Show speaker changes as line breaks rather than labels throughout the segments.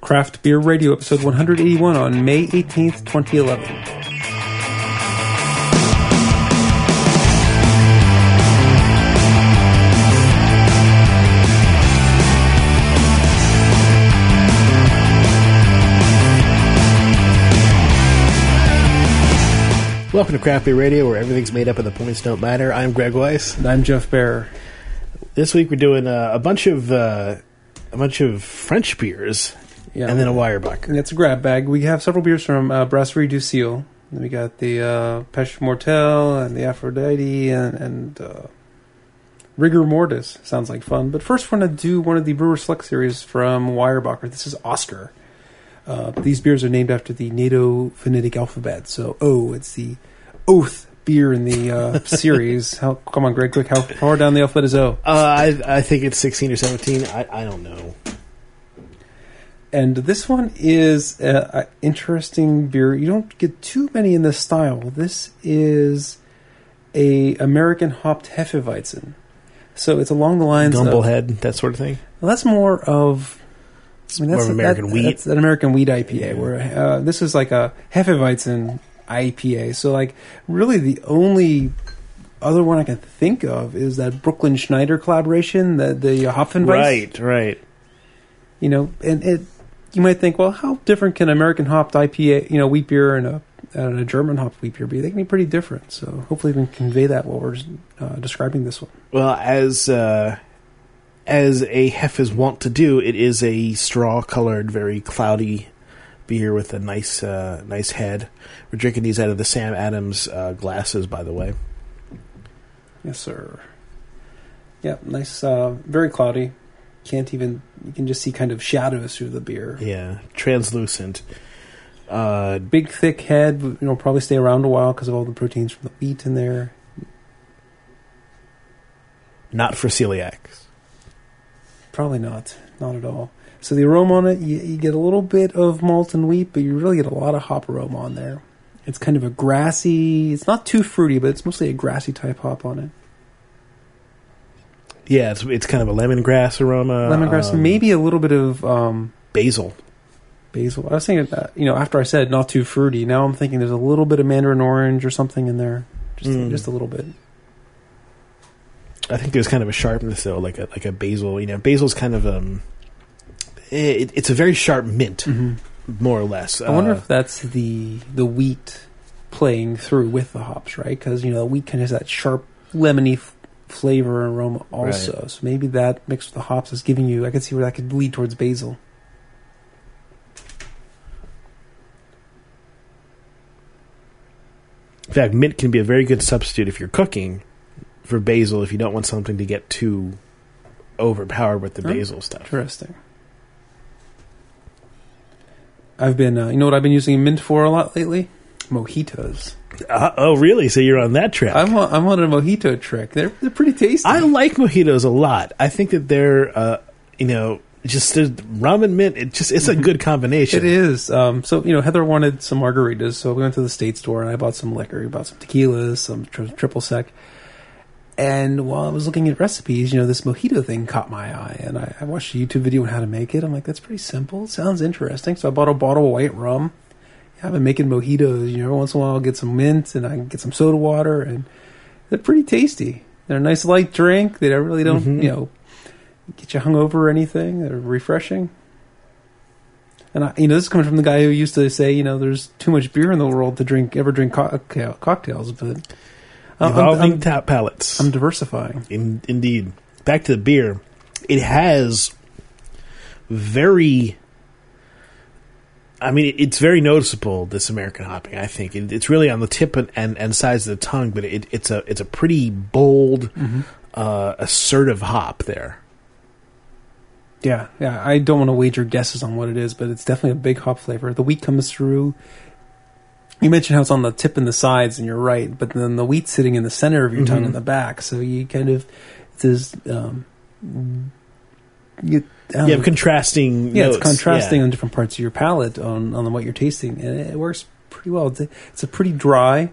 Craft Beer Radio, episode 181 on May 18th, 2011.
Welcome to Craft Beer Radio, where everything's made up and the points don't matter. I'm Greg Weiss.
And I'm Jeff Bear.
This week we're doing a bunch of French beers, and then a Weyerbacher.
It's a grab bag. We have several beers from Brasserie du Ciel. We got the Pêche Mortelle and the Aphrodite and Rigor Mortis. Sounds like fun. But first we're going to do one of the Brewer Select series from Weyerbacher. This is Oscar. These beers are named after the NATO phonetic alphabet. So O, it's the oath beer in the series. Come on, Greg, quick. How far down the alphabet is O?
I think it's 16 or 17. I don't know.
And this one is an interesting beer. You don't get too many in this style. This is a American hopped Hefeweizen. So it's along the lines
Gumblehead, that sort of thing?
Well, that's more of...
That's American wheat.
That's an American wheat IPA, where this is like a Hefeweizen IPA. So, like, really the only other one I can think of is that Brooklyn Schneider collaboration, the Hopfenweiss.
Right.
You know, and you might think, well, how different can American hopped IPA, wheat beer and a German hopped wheat beer be? They can be pretty different. So hopefully we can convey that while we're describing this one.
Well, as a Hef is wont to do, it is a straw-colored, very cloudy beer with a nice head. We're drinking these out of the Sam Adams glasses, by the way.
Yes, sir. Yeah, nice, very cloudy. You can just see kind of shadows through the beer.
Yeah, translucent.
Big, thick head. Probably stay around a while because of all the proteins from the wheat in there.
Not for celiacs.
Probably not at all. So the aroma on it, you get a little bit of malt and wheat, but you really get a lot of hop aroma on there. It's kind of a grassy, it's not too fruity, but it's mostly a grassy type hop on it.
Yeah, it's kind of a lemongrass aroma.
Lemongrass, maybe a little bit of...
basil.
Basil. I was thinking, after I said not too fruity, now I'm thinking there's a little bit of mandarin orange or something in there. Just a little bit.
I think there's kind of a sharpness though, like a basil. Basil's kind of it's a very sharp mint, more or less.
I wonder if that's the wheat playing through with the hops, right? Because the wheat kind of has that sharp lemony flavor and aroma also. Right. So maybe that mixed with the hops is giving you. I can see where that could lead towards basil.
In fact, mint can be a very good substitute if you're cooking for basil, if you don't want something to get too overpowered with the basil stuff.
Interesting. I've been, you know what I've been using mint for a lot lately? Mojitos.
Oh, really? So you're on that track? I'm
on a mojito trick. They're pretty tasty.
I like mojitos a lot. I think that they're, just there's rum and mint. It's a good combination.
It is. So Heather wanted some margaritas, so we went to the state store and I bought some liquor. We bought some tequilas, some triple sec. And while I was looking at recipes, this mojito thing caught my eye. And I watched a YouTube video on how to make it. I'm like, that's pretty simple. It sounds interesting. So I bought a bottle of white rum. I've been making mojitos. Every once in a while I'll get some mint and I can get some soda water. And they're pretty tasty. They're a nice light drink. They really don't, get you hungover or anything. They're refreshing. And this is coming from the guy who used to say, there's too much beer in the world to ever drink cocktails. But...
Evolving tap palates.
I'm diversifying.
Indeed. Back to the beer. It has very... it's very noticeable, this American hopping, I think. It's really on the tip and sides of the tongue, but it's a pretty bold, assertive hop there.
Yeah. I don't want to wager guesses on what it is, but it's definitely a big hop flavor. The wheat comes through... You mentioned how it's on the tip and the sides, and you're right. But then the wheat's sitting in the center of your tongue in the back, so you kind of
you have contrasting. Notes.
It's contrasting on different parts of your palate on what you're tasting, and it works pretty well. It's a pretty dry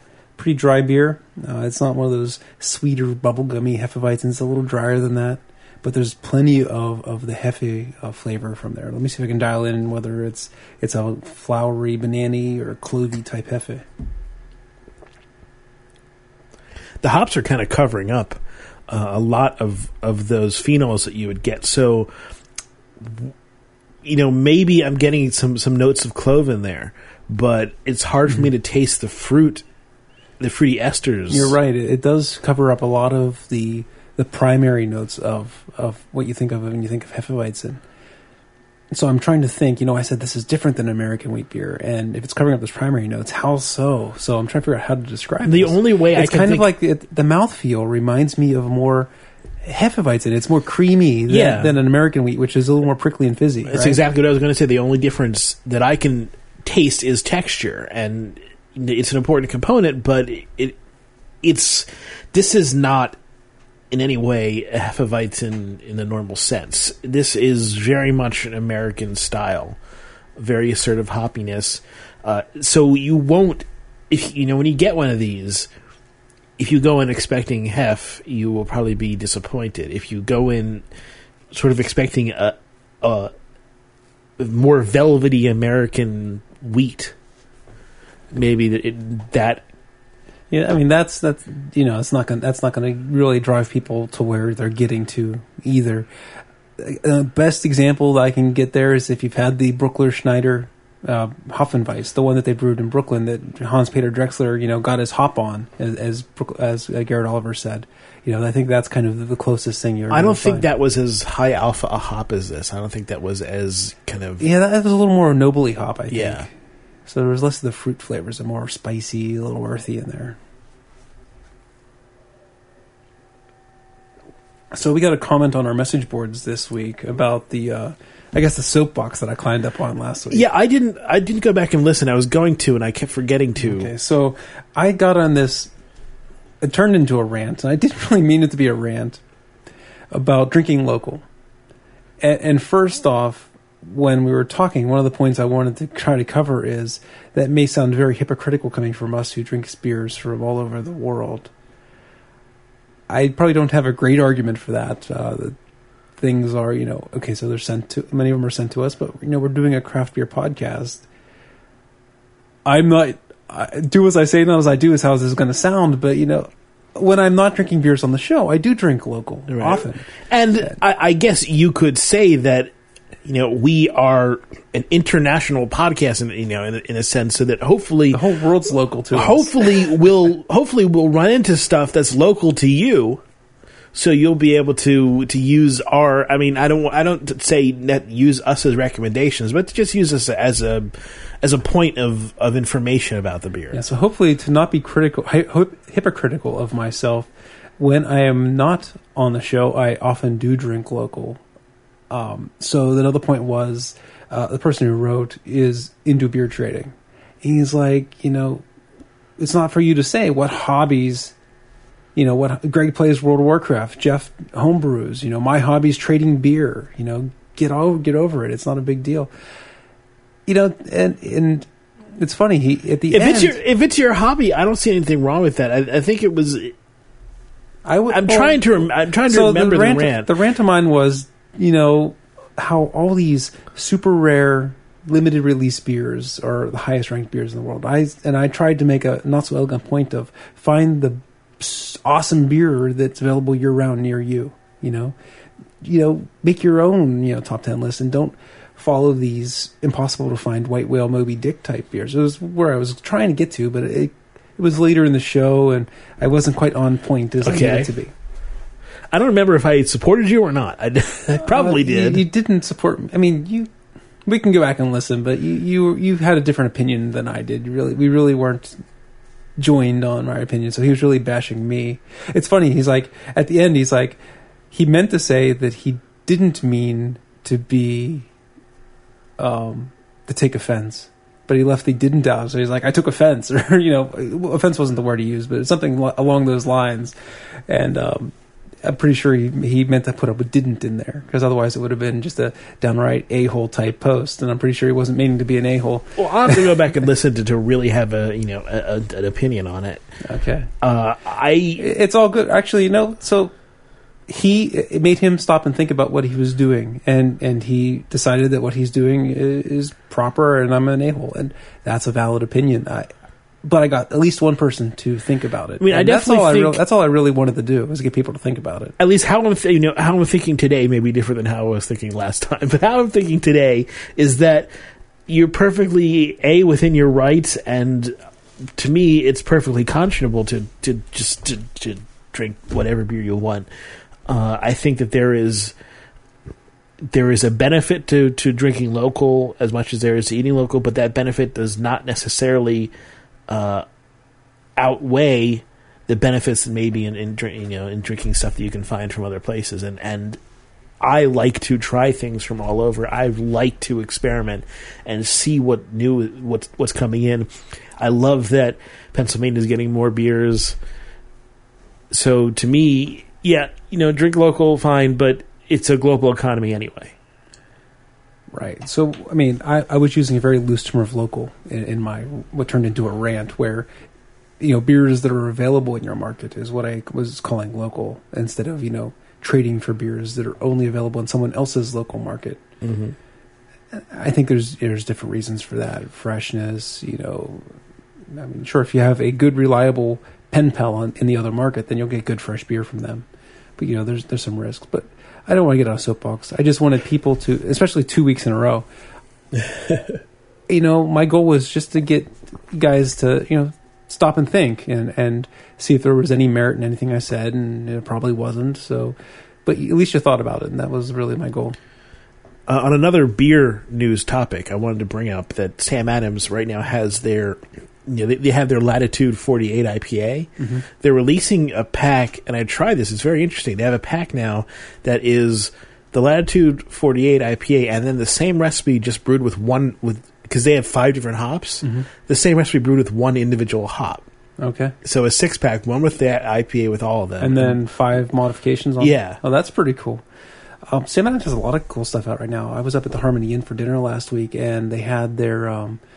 beer. It's not one of those sweeter bubblegummy Hefeweizens. It's a little drier than that. but there's plenty of the Hefe flavor from there. Let me see if I can dial in whether it's a flowery, banana or clovey type Hefe.
The hops are kind of covering up a lot of those phenols that you would get. So, maybe I'm getting some notes of clove in there, but it's hard for me to taste the fruity esters.
You're right. It does cover up a lot of the primary notes of what you think of when you think of Hefeweizen. So I'm trying to think, I said this is different than American wheat beer, and if it's covering up those primary notes, how so? So I'm trying to figure out how to describe
the
this.
only way
it's kind of like the mouthfeel reminds me of more Hefeweizen. It's more creamy than an American wheat, which is a little more prickly and fizzy.
That's exactly what I was going to say. The only difference that I can taste is texture, and it's an important component, but this is not in any way a Hefeweizen in the normal sense. This is very much an American style, very assertive hoppiness. So you won't, when you get one of these, if you go in expecting hef, you will probably be disappointed. If you go in sort of expecting a more velvety American wheat, maybe that.
Yeah, I mean that's it's not going to really drive people to where they're getting to either. Best example that I can get there is if you've had the Bruckler Schneider Hopfenweiss, the one that they brewed in Brooklyn that Hans Peter Drexler got his hop on, as Garrett Oliver said. I think that's kind of the closest thing you're.
I don't think that was as high alpha a hop as this. I don't think that was as kind of.
Yeah, that was a little more nobly hop, I think.
Yeah.
So there was less of the fruit flavors, and more spicy, a little earthy in there. So we got a comment on our message boards this week about the soapbox that I climbed up on last week.
Yeah, I didn't go back and listen. I was going to, and I kept forgetting to.
Okay, so I got on this. It turned into a rant, and I didn't really mean it to be a rant about drinking local. And first off, when we were talking, one of the points I wanted to try to cover is that it may sound very hypocritical coming from us who drink beers from all over the world. I probably don't have a great argument for that. Things are, okay, so they're sent to, many of them are sent to us, but, we're doing a craft beer podcast. Do as I say, not as I do is how this is going to sound, but, when I'm not drinking beers on the show, I do drink local often.
And I guess you could say that, we are an international podcast, in a sense, so that hopefully
the whole world's local to us.
Hopefully we'll run into stuff that's local to you, so you'll be able to use our. I mean, I don't say that use us as recommendations, but just use us as a point of information about the beer.
Yeah. So hopefully to not be hypocritical of myself, when I am not on the show, I often do drink local. So another point was, the person who wrote is into beer trading. He's like, it's not for you to say what hobbies, what Greg plays World of Warcraft, Jeff homebrews, my hobby's trading beer, get over it. It's not a big deal. And it's funny.
If it's your hobby, I don't see anything wrong with that. I think it was. I'm trying to remember the rant.
The rant of mine was, how all these super rare limited release beers are the highest ranked beers in the world. I tried to make a not so elegant point of find the awesome beer that's available year round near you. Make your own top 10 list and don't follow these impossible to find White Whale, Moby Dick type beers. It was where I was trying to get to, but it was later in the show and I wasn't quite on point as I needed to be.
I don't remember if I supported you or not. I probably did.
You didn't support me. I mean, we can go back and listen, but you had a different opinion than I did. We really weren't joined on my opinion, so he was really bashing me. It's funny. He's like, at the end, he's like, he meant to say that he didn't mean to be, to take offense, but he left the didn't out. So he's like, I took offense, or offense wasn't the word he used, but it's something along those lines, and I'm pretty sure he meant to put up a didn't in there, because otherwise it would have been just a downright a-hole type post, and I'm pretty sure he wasn't meaning to be an a-hole.
Well, I'll have to go back and listen to really have an opinion on it.
Okay.
It's
all good. Actually, so it made him stop and think about what he was doing, and he decided that what he's doing is proper, and I'm an a-hole, and that's a valid opinion. But I got at least one person to think about it.
I mean, I definitely think
that's all I really wanted to do, was get people to think about it.
At least how I'm thinking today may be different than how I was thinking last time. But how I'm thinking today is that you're perfectly within your rights, and to me, it's perfectly conscionable to drink whatever beer you want. I think that there is a benefit to drinking local as much as there is to eating local, but that benefit does not necessarily outweigh the benefits that maybe in drinking stuff that you can find from other places. And I like to try things from all over. I like to experiment and see what's coming in. I love that Pennsylvania is getting more beers. So to me, yeah, drink local, fine, but it's a global economy anyway.
Right. So, I mean, I was using a very loose term of local in my what turned into a rant, where beers that are available in your market is what I was calling local, instead of trading for beers that are only available in someone else's local market.
Mm-hmm.
I think there's different reasons for that. Freshness, I mean, sure, if you have a good, reliable pen pal in the other market, then you'll get good fresh beer from them. But there's some risks. But I don't want to get on a soapbox. I just wanted people to, especially 2 weeks in a row. My goal was just to get guys to stop and think and see if there was any merit in anything I said, and it probably wasn't. So, but at least you thought about it, and that was really my goal.
On another beer news topic, I wanted to bring up that Sam Adams right now has their, they have their Latitude 48 IPA.
Mm-hmm.
They're releasing a pack, and I tried this. It's very interesting. They have a pack now that is the Latitude 48 IPA, and then the same recipe just brewed because they have 5 different hops.
Mm-hmm.
The same recipe brewed with one individual hop.
Okay.
So a 6-pack, one with that IPA with all of them,
and then 5 modifications on it.
Yeah.
Oh, that's pretty cool. Sam Adams has a lot of cool stuff out right now. I was up at the Harmony Inn for dinner last week, and they had their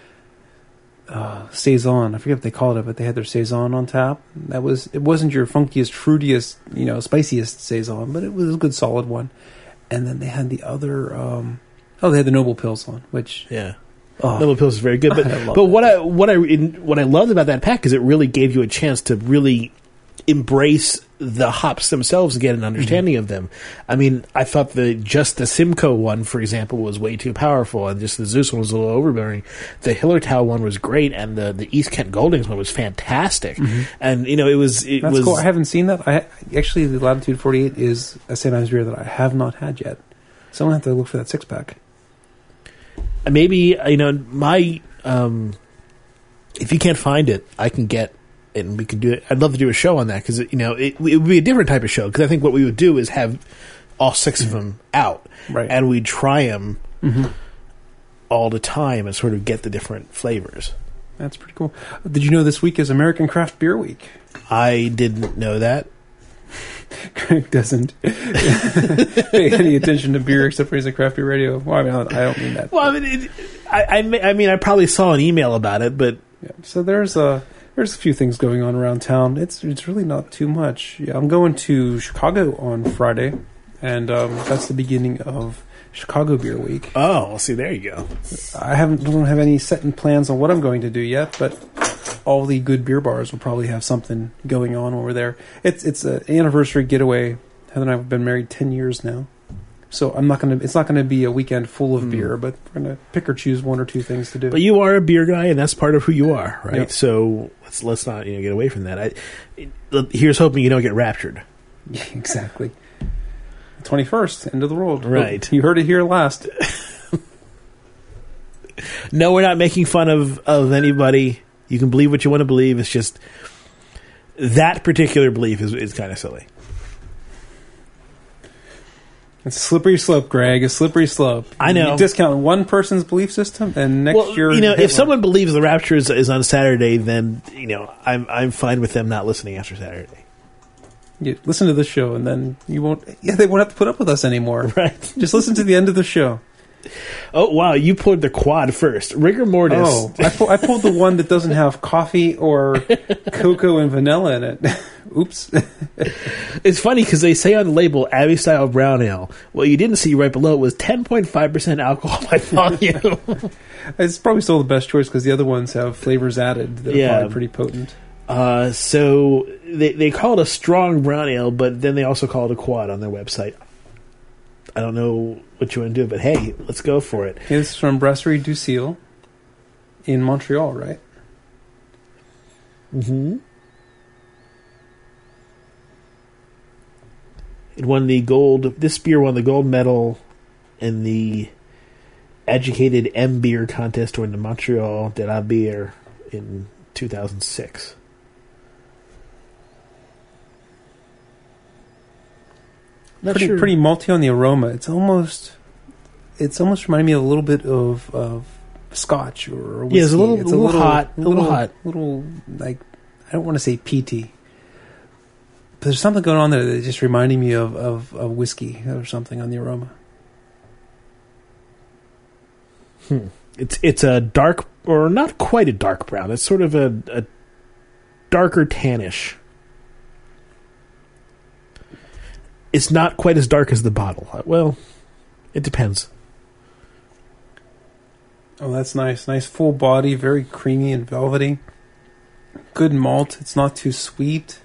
Saison. I forget what they called it, but they had their Saison on tap. It wasn't your funkiest, fruitiest, spiciest Saison, but it was a good, solid one. And then they had the other. They had the Noble Pils on, which
Noble Pils is very good. But what I loved about that pack is it really gave you a chance to really embrace the hops themselves and get an understanding of them. I mean, I thought just the Simcoe one, for example, was way too powerful, and just the Zeus one was a little overbearing. The Hillertau one was great, and the East Kent Goldings one was fantastic. Mm-hmm. And it was
cool. I haven't seen that. Actually, the Latitude 48 is a St. Ives beer that I have not had yet. So I'm gonna have to look for that 6-pack.
Maybe my if you can't find it, I can get. And we could do it. I'd love to do a show on that because it would be a different type of show. Because I think what we would do is have all 6 of them out,
right,
and we'd try them all the time and sort of get the different flavors.
That's pretty cool. Did you know this week is American Craft Beer Week?
I didn't know that.
Craig doesn't pay any attention to beer except for he's a craft beer radio. Well, I mean, I don't mean that.
Well, I mean, I probably saw an email about it, but
yeah. So there's a few things going on around town. It's really not too much. Yeah, I'm going to Chicago on Friday, and that's the beginning of Chicago Beer Week.
Oh, well, see, there you go.
I don't have any set in plans on what I'm going to do yet, but all the good beer bars will probably have something going on over there. It's an anniversary getaway. Heather and I have been married 10 years now. So it's not gonna be a weekend full of beer, but we're gonna pick or choose 1 or 2 things to do.
But you are a beer guy, and that's part of who you are, right?
Yep.
So let's not get away from that. Here's hoping you don't get raptured.
Yeah, exactly. 21st, end of the world.
Right.
You heard it here last.
No, we're not making fun of anybody. You can believe what you want to believe. It's just that particular belief is kind of silly.
It's a slippery slope, Greg. A slippery slope.
I know.
You discount one person's belief system, and next year...
if someone believes the rapture is on Saturday, then, I'm fine with them not listening after Saturday.
You listen to the show, and then you won't... Yeah, they won't have to put up with us anymore.
Right.
Just listen to the end of the show.
Oh, wow, you pulled the quad first. Rigor mortis.
Oh, I pulled the one that doesn't have coffee or cocoa and vanilla in it. Oops.
It's funny because they say on the label, Abbey Style Brown Ale. What you didn't see right below was 10.5% alcohol by volume.
It's probably still the best choice because the other ones have flavors added that are probably pretty potent.
So they call it a strong brown ale, but then they also call it a quad on their website. I don't know what you want to do, but hey, let's go for it.
It's from Brasserie du Ciel in Montreal, right?
Mm-hmm. It won the gold. This beer won the gold medal in the Educated M Beer contest during the Montreal de la Bière in 2006.
Pretty malty on the aroma. It's almost reminding me a little bit of Scotch or whiskey.
Yeah, it's a little hot.
Little like, I don't want to say peaty. But there's something going on there that's just reminding me of whiskey or something on the aroma.
It's a dark, or not quite a dark brown. It's sort of a darker tannish. It's not quite as dark as the bottle. Well, it depends.
Oh, that's nice. Nice full body, very creamy and velvety. Good malt. It's not too sweet.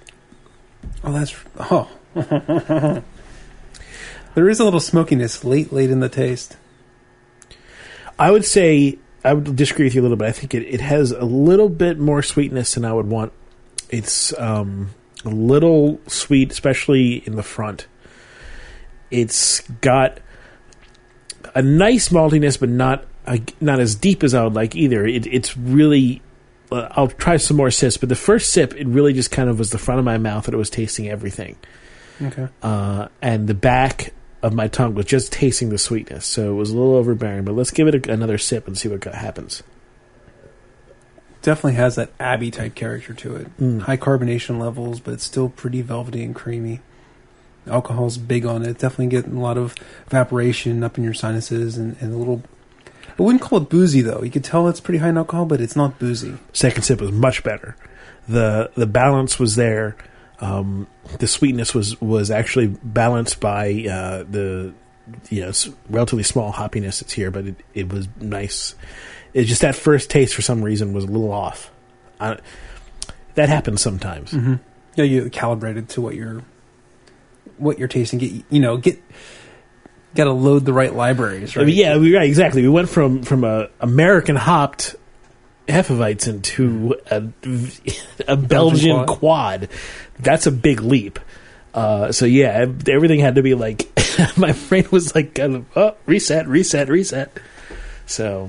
There is a little smokiness late in the taste.
I would say, I would disagree with you a little bit. I think it has a little bit more sweetness than I would want. It's a little sweet, especially in the front. It's got a nice maltiness, but not as deep as I would like either. It's really... I'll try some more sips, but the first sip, it really just kind of was the front of my mouth that it was tasting everything.
Okay.
And the back of my tongue was just tasting the sweetness, so it was a little overbearing. But let's give it another sip and see what happens.
Definitely has that Abbey type character to it. High carbonation levels, but it's still pretty velvety and creamy. Alcohol's big on it. Definitely getting a lot of evaporation up in your sinuses and a little... I wouldn't call it boozy, though. You could tell it's pretty high in alcohol, but it's not boozy.
Second sip was much better. The balance was there. The sweetness was actually balanced by the relatively small hoppiness that's here, but it was nice. It's just that first taste for some reason was a little off. That happens sometimes.
Mm-hmm. Yeah, you calibrated to what you're tasting. Got to load the right libraries, right?
Right, exactly. We went from a American hopped Hefeweizen to a Belgian quad. That's a big leap. Everything had to be like, my brain was like, kind of, reset. So,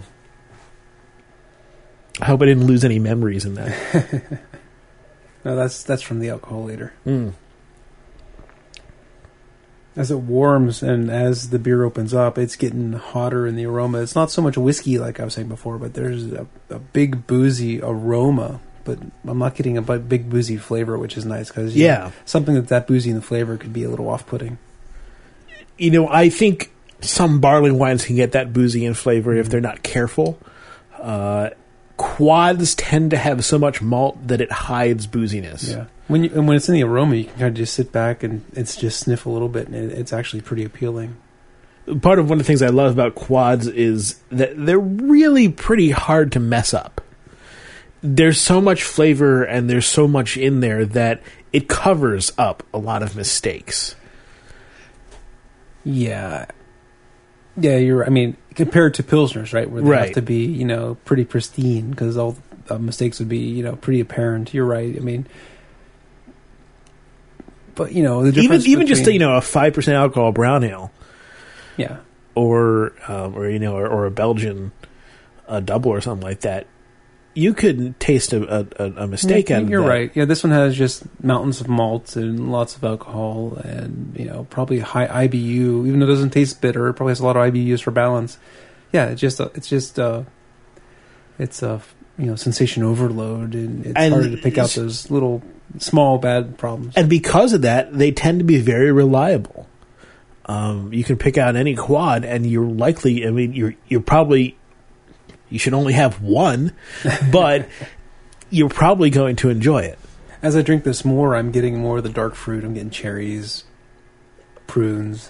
I hope I didn't lose any memories in that.
No, that's from the alcohol later. As it warms and as the beer opens up, it's getting hotter in the aroma. It's not so much whiskey like I was saying before, but there's a big boozy aroma. But I'm not getting a big boozy flavor, which is nice because something that boozy in the flavor could be a little off-putting.
I think some barley wines can get that boozy in flavor if they're not careful. Quads tend to have so much malt that it hides booziness.
Yeah. When it's in the aroma, you can kind of just sit back and it's just sniff a little bit, and it's actually pretty appealing.
Part of one of the things I love about quads is that they're really pretty hard to mess up. There's so much flavor and there's so much in there that it covers up a lot of mistakes.
Yeah. Yeah, compared to Pilsners, right? Where they have to be, pretty pristine because all mistakes would be, pretty apparent. You're right. But, the difference
even just, a 5% alcohol brown ale.
Yeah.
Or a Belgian double or something like that. You could taste a mistake out of that.
You're right. Yeah, this one has just mountains of malt and lots of alcohol and, probably high IBU. Even though it doesn't taste bitter, it probably has a lot of IBUs for balance. Yeah, it's sensation overload, and it's harder to pick out those little small bad problems.
And because of that, they tend to be very reliable. You can pick out any quad, and you're likely. I mean, you're probably you should only have one, but you're probably going to enjoy it.
As I drink this more, I'm getting more of the dark fruit. I'm getting cherries, prunes.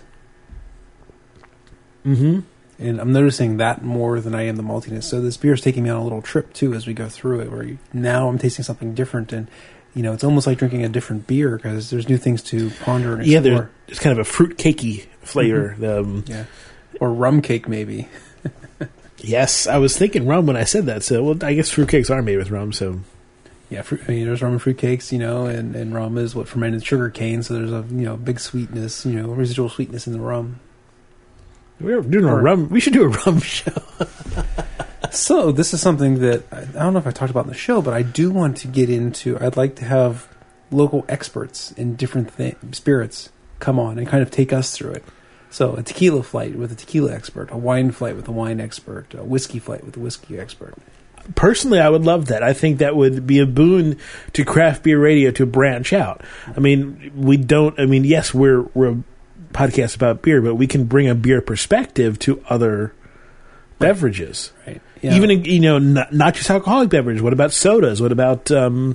Mm-hmm.
And I'm noticing that more than I am the maltiness. So this beer is taking me on a little trip, too, as we go through it, where now I'm tasting something different. And, it's almost like drinking a different beer because there's new things to ponder and explore.
Yeah, there's kind of a fruit cakey flavor.
Mm-hmm. Yeah. Or rum cake, maybe.
Yes, I was thinking rum when I said that. So, I guess fruit cakes are made with rum, so...
Yeah, there's rum and fruit cakes, and rum is what fermented sugar cane, so there's a, big sweetness, residual sweetness in the rum.
We're doing a rum. We should do a rum show.
So this is something that I don't know if I talked about in the show, but I do want to get into. I'd like to have local experts in different spirits come on and kind of take us through it. So a tequila flight with a tequila expert, a wine flight with a wine expert, a whiskey flight with a whiskey expert.
Personally, I would love that. I think that would be a boon to craft beer radio to branch out. I mean, yes, we're a podcast about beer, but we can bring a beer perspective to other beverages.
Right.
Yeah. Even, not just alcoholic beverages. What about sodas? What about,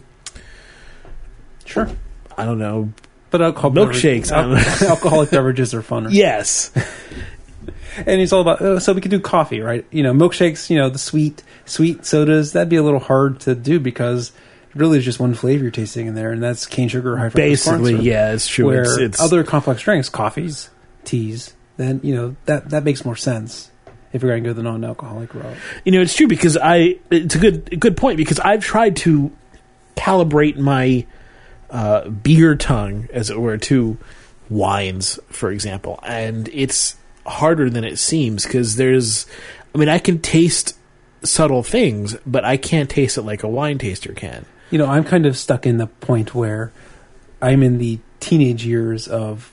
sure.
I don't know.
But
milkshakes.
Alcoholic beverages are funner.
Yes.
And it's all about, so we could do coffee, right? Milkshakes, the sweet sodas, that'd be a little hard to do because it really is just one flavor you're tasting in there, and that's cane sugar or high fructose
basically,
corn syrup.
Yeah, it's true.
Where
it's
other complex drinks, coffees, teas, then, that makes more sense if you're going to go the non-alcoholic route.
It's true because it's a good point because I've tried to calibrate my beer tongue, as it were, to wines, for example, and it's harder than it seems because I can taste subtle things, but I can't taste it like a wine taster can.
I'm kind of stuck in the point where I'm in the teenage years of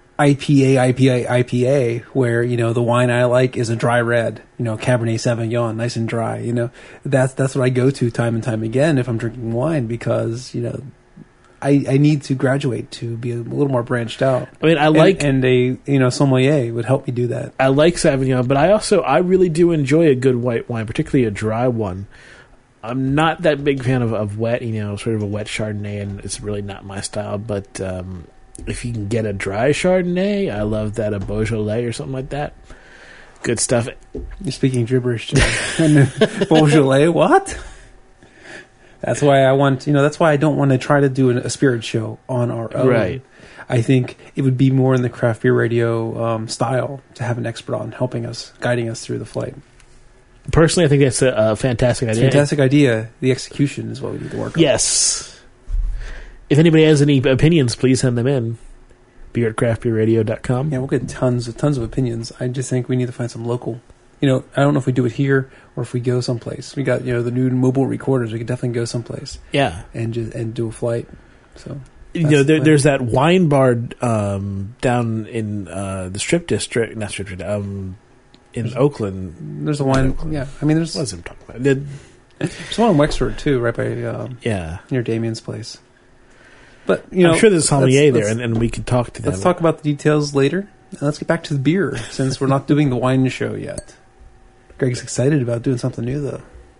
IPA, where, the wine I like is a dry red, Cabernet Sauvignon, nice and dry, that's what I go to time and time again if I'm drinking wine because, I need to graduate to be a little more branched out.
I mean,
and a sommelier would help me do that.
I like Sauvignon, but I really do enjoy a good white wine, particularly a dry one. I'm not that big fan of wet, sort of a wet Chardonnay, and it's really not my style. But if you can get a dry Chardonnay, I love that, a Beaujolais or something like that. Good stuff.
You're speaking gibberish to me. Beaujolais, what? That's why that's why I don't want to try to do a spirit show on our own.
Right.
I think it would be more in the craft beer radio style to have an expert on helping us, guiding us through the flight.
Personally, I think that's a fantastic idea.
Fantastic idea. The execution is what we need to work on.
Yes. If anybody has any opinions, please send them in. beer@craftbeerradio.com.
Yeah, we'll get tons of opinions. I just think we need to find some local. I don't know if we do it here or if we go someplace. We got, the new mobile recorders. We could definitely go someplace.
Yeah.
And do a flight. So
there's that wine bar down in the Strip District, not Strip District, in Oakland.
There's a wine. Yeah, I mean, there's.
What was I talking about?
There's one in Wexford too, right by near Damien's place. But
I'm sure there's a sommelier there, and we could talk to them.
Let's talk about the details later. And let's get back to the beer since we're not doing the wine show yet. Greg's excited about doing something new, though.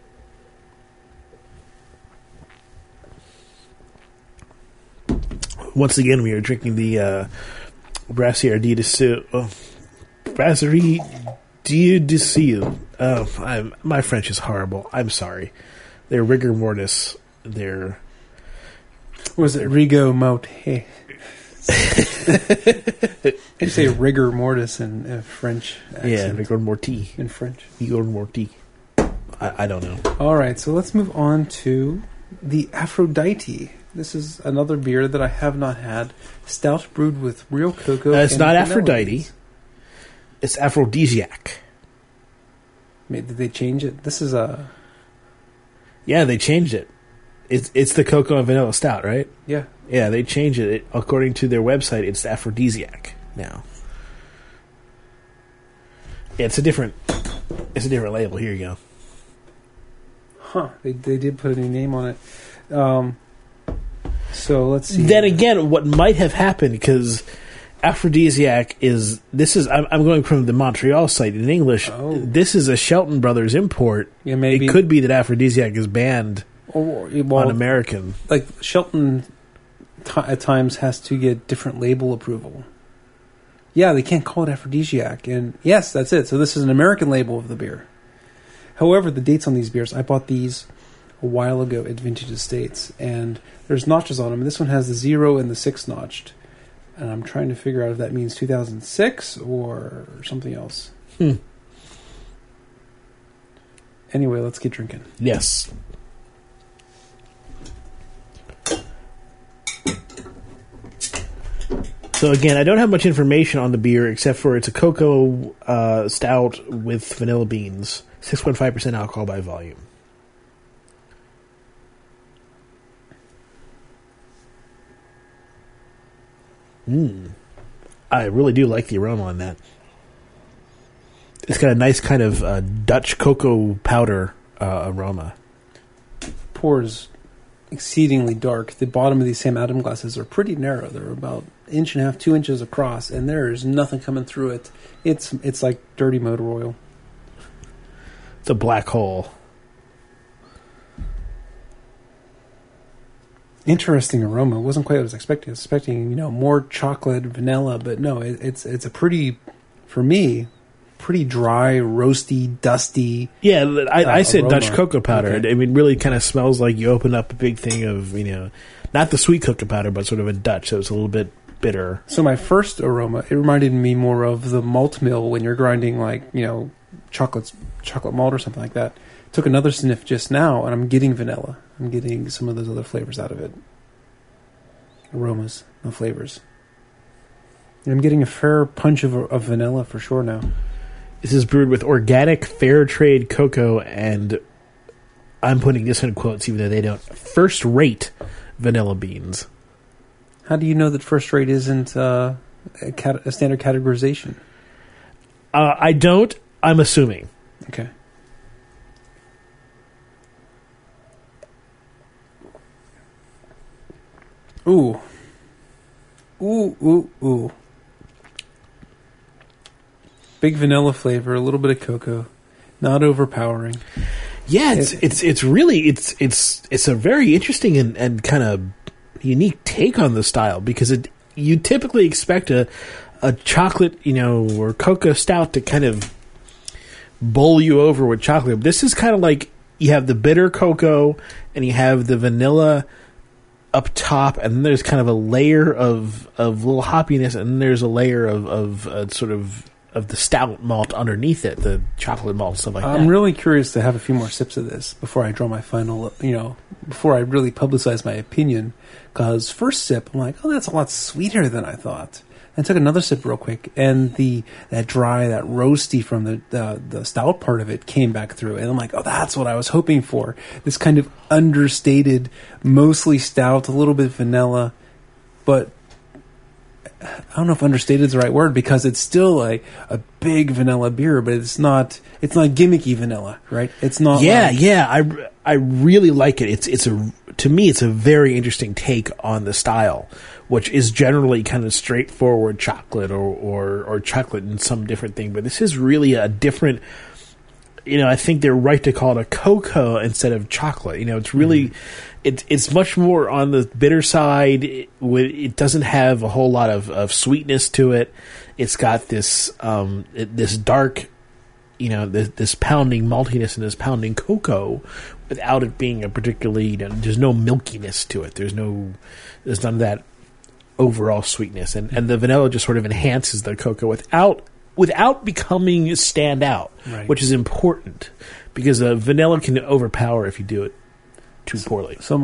Once again, we are drinking the Brasserie du Sil. My French is horrible. I'm sorry. They're rigor mortis. They're...
Was it Rigo Mote? You say rigor mortis in French accent.
Yeah, rigor mortis.
In French.
Rigor mortis. I don't know.
All right, so let's move on to the Aphrodite. This is another beer that I have not had. Stout brewed with real cocoa.
It's not Aphrodite. It's aphrodisiac.
Did they change it? This is a...
Yeah, they changed it. It's the cocoa and vanilla stout, right?
Yeah.
Yeah, they changed it. According to their website, it's aphrodisiac now. Yeah, it's a different label. Here you go.
Huh. They did put a new name on it. So let's see.
Then again, what might have happened, because Aphrodisiac is... I'm going from the Montreal site in English.
Oh.
This is a Shelton Brothers import.
Yeah, maybe.
It could be that Aphrodisiac is banned on American.
Like, Shelton at times has to get different label approval. Yeah, they can't call it Aphrodisiac. And yes, that's it. So this is an American label of the beer. However, the dates on these beers, I bought these a while ago at Vintage Estates, and there's notches on them. This one has the 0 and the 6 notched. And I'm trying to figure out if that means 2006 or something else. Anyway, let's get drinking.
Yes. So again, I don't have much information on the beer except for it's a cocoa stout with vanilla beans, 6.5% alcohol by volume. I really do like the aroma on that. It's got a nice kind of Dutch cocoa powder aroma.
Pours exceedingly dark. The bottom of these Sam Adams glasses are pretty narrow. They're about 1.5 inches, 2 inches across, and there is nothing coming through it. It's like dirty motor oil.
It's a black hole.
Interesting aroma. It wasn't quite what I was expecting. I was expecting, more chocolate, vanilla, but no, it's a pretty, for me, pretty dry, roasty, dusty.
Yeah, I said
aroma.
Dutch cocoa powder.
Okay.
I mean, really kind of smells like you open up a big thing of, not the sweet cocoa powder, but sort of a Dutch, so it's a little bit bitter.
So my first aroma, it reminded me more of the malt mill when you're grinding chocolate malt or something like that. Took another sniff just now, and I'm getting vanilla. I'm getting some of those other flavors out of it. Aromas, no flavors. And I'm getting a fair punch of vanilla for sure now.
This is brewed with organic fair trade cocoa and, I'm putting this in quotes even though they don't, first-rate vanilla beans.
How do you know that first rate isn't a standard categorization?
I don't. I'm assuming.
Okay. Ooh. Ooh, ooh, ooh. Big vanilla flavor, a little bit of cocoa. Not overpowering.
Yeah, it's really a very interesting and kind of unique take on the style because you typically expect a chocolate, or cocoa stout to kind of bowl you over with chocolate. This is kind of like you have the bitter cocoa and you have the vanilla up top, and then there's kind of a layer of little hoppiness, and then there's a layer of sort of the stout malt underneath it, the chocolate malt, stuff like that.
I'm really curious to have a few more sips of this before I draw my final, before I really publicize my opinion, because first sip, I'm like, oh, that's a lot sweeter than I thought. I took another sip real quick, and that dry, that roasty from the stout part of it came back through, and I'm like, oh, that's what I was hoping for. This kind of understated, mostly stout, a little bit vanilla, but I don't know if understated is the right word because it's still like a big vanilla beer, but it's not gimmicky vanilla, right? It's not.
Yeah. I really like it. To me, it's a very interesting take on the style, which is generally kind of straightforward chocolate or chocolate and some different thing. But this is really a different, I think they're right to call it a cocoa instead of chocolate. It's really, it's much more on the bitter side. It doesn't have a whole lot of sweetness to it. It's got this dark, this pounding maltiness and this pounding cocoa without it being a particularly, there's no milkiness to it. There's none of that overall sweetness. And the vanilla just sort of enhances the cocoa without becoming stand out,
right.
Which is important because vanilla can overpower if you do it too poorly.
So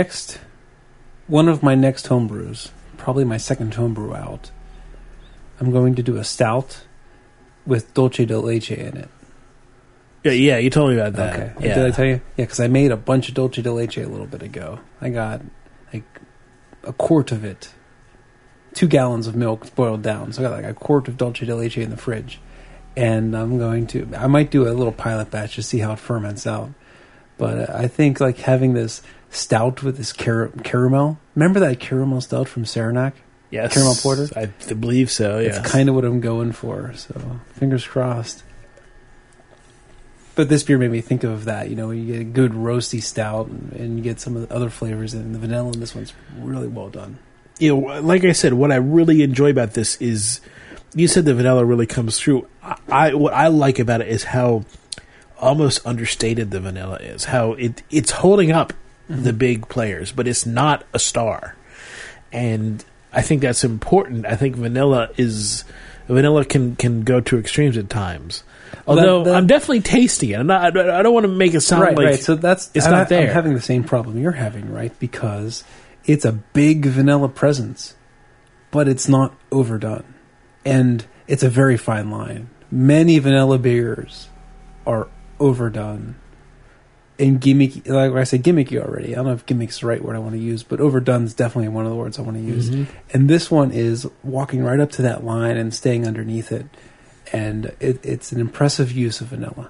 one of my next homebrews, probably my second homebrew out, I'm going to do a stout with dulce de leche in it.
Yeah, you told me about that.
Okay.
Yeah.
Did I tell you? Yeah, because I made a bunch of dulce de leche a little bit ago. I got like a quart of it. 2 gallons of milk boiled down. So I got like a quart of dulce de leche in the fridge. And I might do a little pilot batch to see how it ferments out. But I think having this stout with this caramel. Remember that caramel stout from Saranac?
Yes.
Caramel porter?
I believe so, yes.
It's kind of what I'm going for, so fingers crossed. But this beer made me think of that. You get a good roasty stout, and you get some of the other flavors in the vanilla, and this one's really well done.
Like I said, what I really enjoy about this is, you said the vanilla really comes through. What I like about it is how almost understated the vanilla is. How it's holding up the big players, but it's not a star. And I think that's important. I think vanilla can go to extremes at times. Although I'm definitely tasting it. I don't want to make it sound like
so it's not there. I'm having the same problem you're having, right? Because it's a big vanilla presence, but it's not overdone, and it's a very fine line. Many vanilla beers are overdone and gimmicky. Like I said, gimmicky already. I don't know if gimmick's the right word I want to use, but overdone is definitely one of the words I want to use. Mm-hmm. And this one is walking right up to that line and staying underneath it. And it's an impressive use of vanilla.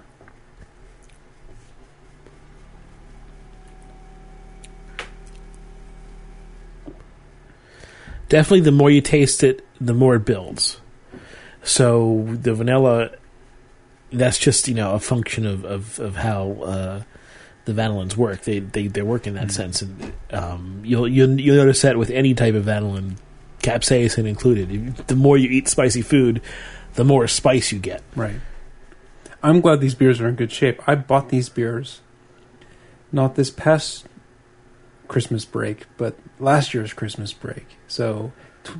Definitely, the more you taste it, the more it builds. So the vanilla, that's just a function of how the vanillins work. They work in that sense, and you'll notice that with any type of vanillin, capsaicin included. The more you eat spicy food, the more spice you get.
Right. I'm glad these beers are in good shape. I bought these beers not this past Christmas break, but last year's Christmas break. So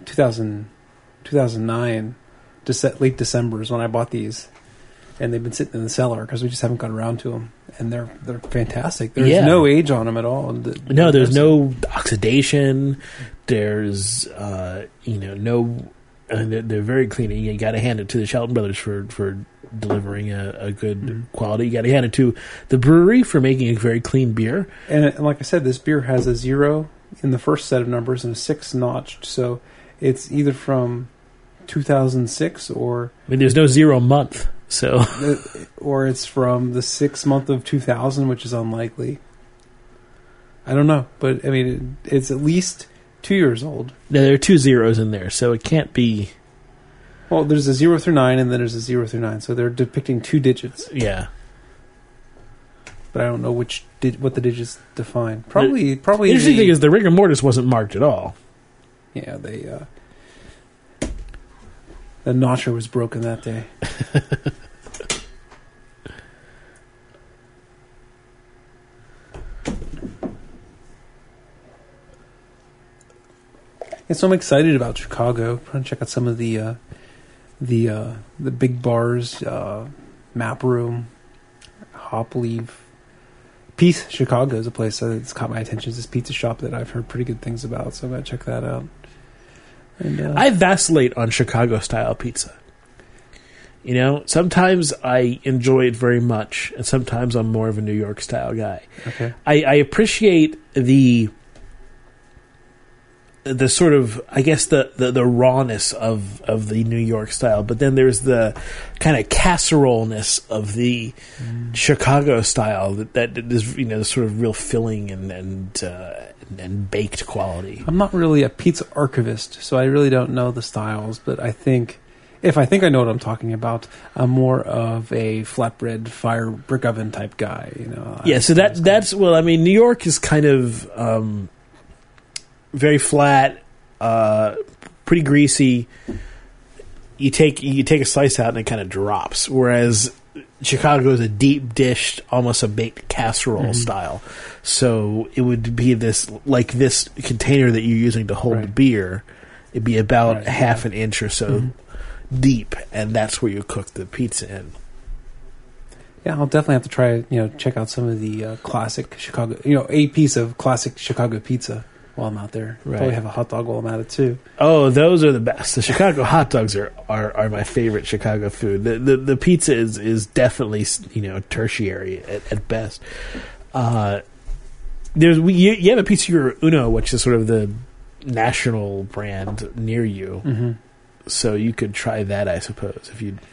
2009, late December is when I bought these. And they've been sitting in the cellar because we just haven't got around to them. And they're fantastic. There's no age on them at all.
No, there's no oxidation. There's, no... And they're very clean. You got to hand it to the Shelton Brothers for delivering a good quality. You got to hand it to the brewery for making a very clean beer.
And like I said, this beer has a 0 in the first set of numbers and a 6 notched. So it's either from 2006 or...
I mean, there's no 0 month, so...
Or it's from the 6th month of 2000, which is unlikely. I don't know. But, I mean, it's at least... 2 years old.
Now, there are 2 zeros in there, so it can't be...
Well, there's a 0 through 9, and then there's a 0 through 9, so they're depicting 2 digits.
Yeah.
But I don't know what the digits define. Probably. The
interesting thing is the rigor mortis wasn't marked at all.
Yeah, the notcher was broken that day. And so I'm excited about Chicago. I'm trying to check out some of the big bars, Map Room, Hop Leaf. Peace Chicago is a place that's caught my attention. It's this pizza shop that I've heard pretty good things about, so I'm going to check that out. And,
I vacillate on Chicago-style pizza. Sometimes I enjoy it very much, and sometimes I'm more of a New York-style guy.
Okay.
I appreciate the sort of, I guess, the rawness of the New York style, but then there's the kind of casserole-ness of the Chicago style that is, the sort of real filling and baked quality.
I'm not really a pizza archivist, so I really don't know the styles, but I think I know what I'm talking about, I'm more of a flatbread fire brick oven type guy.
Yeah, so that's well, I mean, New York is kind of very flat, pretty greasy. You take a slice out and it kind of drops. Whereas Chicago is a deep dished, almost a baked casserole style. So it would be this container that you're using to hold the beer. It'd be about half an inch or so deep, and that's where you cook the pizza in.
Yeah, I'll definitely have to try. Check out some of the classic Chicago. A piece of classic Chicago pizza. While I'm out there, probably have a hot dog while I'm at it too.
Oh, those are the best. The Chicago hot dogs are my favorite Chicago food. The pizza is definitely tertiary at best. You have a Pizzeria Uno, which is sort of the national brand near you, so you could try that, I suppose, if you.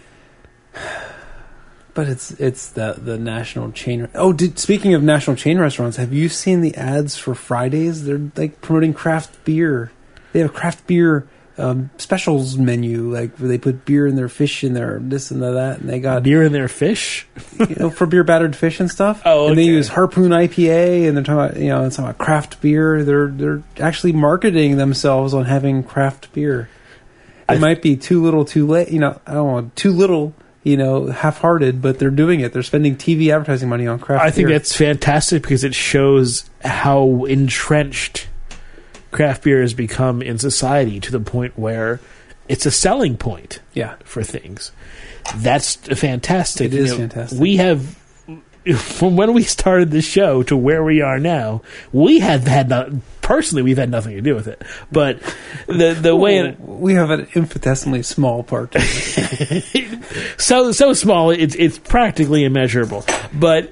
But it's the national chain. Oh, speaking of national chain restaurants, have you seen the ads for Fridays? They're like promoting craft beer. They have a craft beer specials menu, like where they put beer in their fish in their this and that, and they got
beer in their fish,
for beer battered fish and stuff.
Oh, okay.
And they use Harpoon IPA, and they're talking about it's talking about craft beer. They're actually marketing themselves on having craft beer. It might be too little, too late. I don't know, too little. Half-hearted, but they're doing it. They're spending TV advertising money on craft beer.
I think that's fantastic because it shows how entrenched craft beer has become in society to the point where it's a selling point for things. That's fantastic.
It is fantastic.
We have, from when we started the show to where we are now, we've had nothing to do with it. But the way
we have an infinitesimally small part to
it. so small it's practically immeasurable. But